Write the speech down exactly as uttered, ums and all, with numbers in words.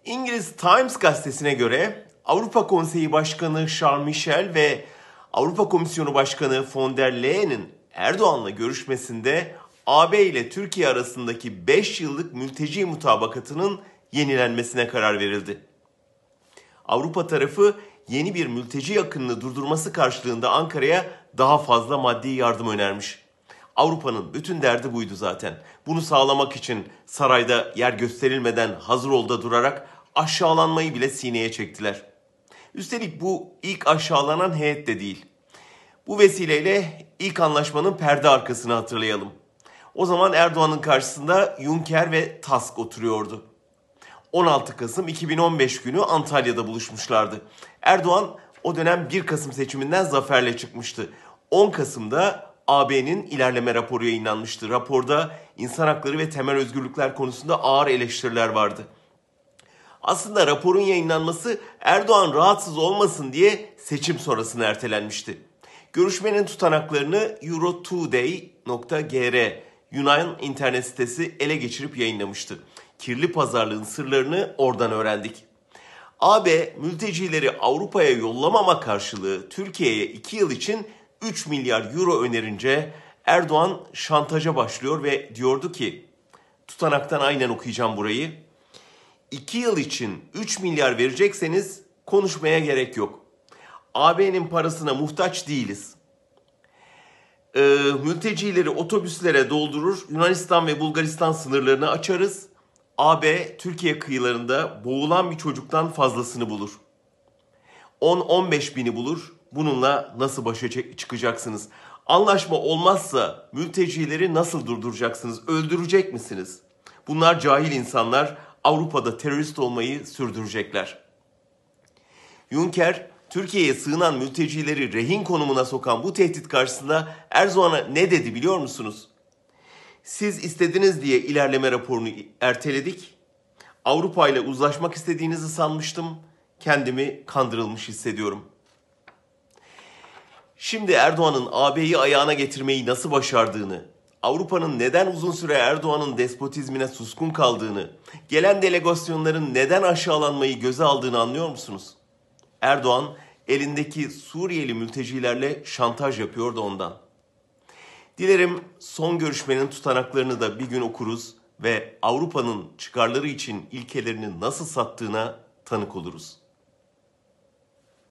İngiliz Times gazetesine göre Avrupa Konseyi Başkanı Charles Michel ve Avrupa Komisyonu Başkanı von der Leyen'in Erdoğan'la görüşmesinde A B ile Türkiye arasındaki beş yıllık mülteci mutabakatının yenilenmesine karar verildi. Avrupa tarafı yeni bir mülteci akınını durdurması karşılığında Ankara'ya daha fazla maddi yardım önermiş. Avrupa'nın bütün derdi buydu zaten. Bunu sağlamak için sarayda yer gösterilmeden hazır olda durarak aşağılanmayı bile sineye çektiler. Üstelik bu ilk aşağılanan heyet de değil. Bu vesileyle ilk anlaşmanın perde arkasını hatırlayalım. O zaman Erdoğan'ın karşısında Juncker ve Tusk oturuyordu. on altı Kasım iki bin on beş günü Antalya'da buluşmuşlardı. Erdoğan o dönem bir Kasım seçiminden zaferle çıkmıştı. on Kasım'da A B'nin ilerleme raporu yayınlanmıştı. Raporda insan hakları ve temel özgürlükler konusunda ağır eleştiriler vardı. Aslında raporun yayınlanması Erdoğan rahatsız olmasın diye seçim sonrasına ertelenmişti. Görüşmenin tutanaklarını eurotoday nokta gr Yunan internet sitesi ele geçirip yayınlamıştı. Kirli pazarlığın sırlarını oradan öğrendik. A B mültecileri Avrupa'ya yollamama karşılığı Türkiye'ye iki yıl için üç milyar euro önerince Erdoğan şantaja başlıyor ve diyordu ki, tutanaktan aynen okuyacağım burayı, iki yıl için üç milyar verecekseniz konuşmaya gerek yok. A B'nin parasına muhtaç değiliz. Ee, mültecileri otobüslere doldurur, Yunanistan ve Bulgaristan sınırlarını açarız. A B Türkiye kıyılarında boğulan bir çocuktan fazlasını bulur. on on beş bini bulur. Bununla nasıl başa çıkacaksınız? Anlaşma olmazsa mültecileri nasıl durduracaksınız? Öldürecek misiniz? Bunlar cahil insanlar, Avrupa'da terörist olmayı sürdürecekler. Juncker, Türkiye'ye sığınan mültecileri rehin konumuna sokan bu tehdit karşısında Erdoğan'a ne dedi biliyor musunuz? Siz istediniz diye ilerleme raporunu erteledik. Avrupa ile uzlaşmak istediğinizi sanmıştım. Kendimi kandırılmış hissediyorum. Şimdi Erdoğan'ın A B'yi ayağına getirmeyi nasıl başardığını, Avrupa'nın neden uzun süre Erdoğan'ın despotizmine suskun kaldığını, gelen delegasyonların neden aşağılanmayı göze aldığını anlıyor musunuz? Erdoğan elindeki Suriyeli mültecilerle şantaj yapıyor da ondan. Dilerim son görüşmenin tutanaklarını da bir gün okuruz ve Avrupa'nın çıkarları için ilkelerini nasıl sattığına tanık oluruz.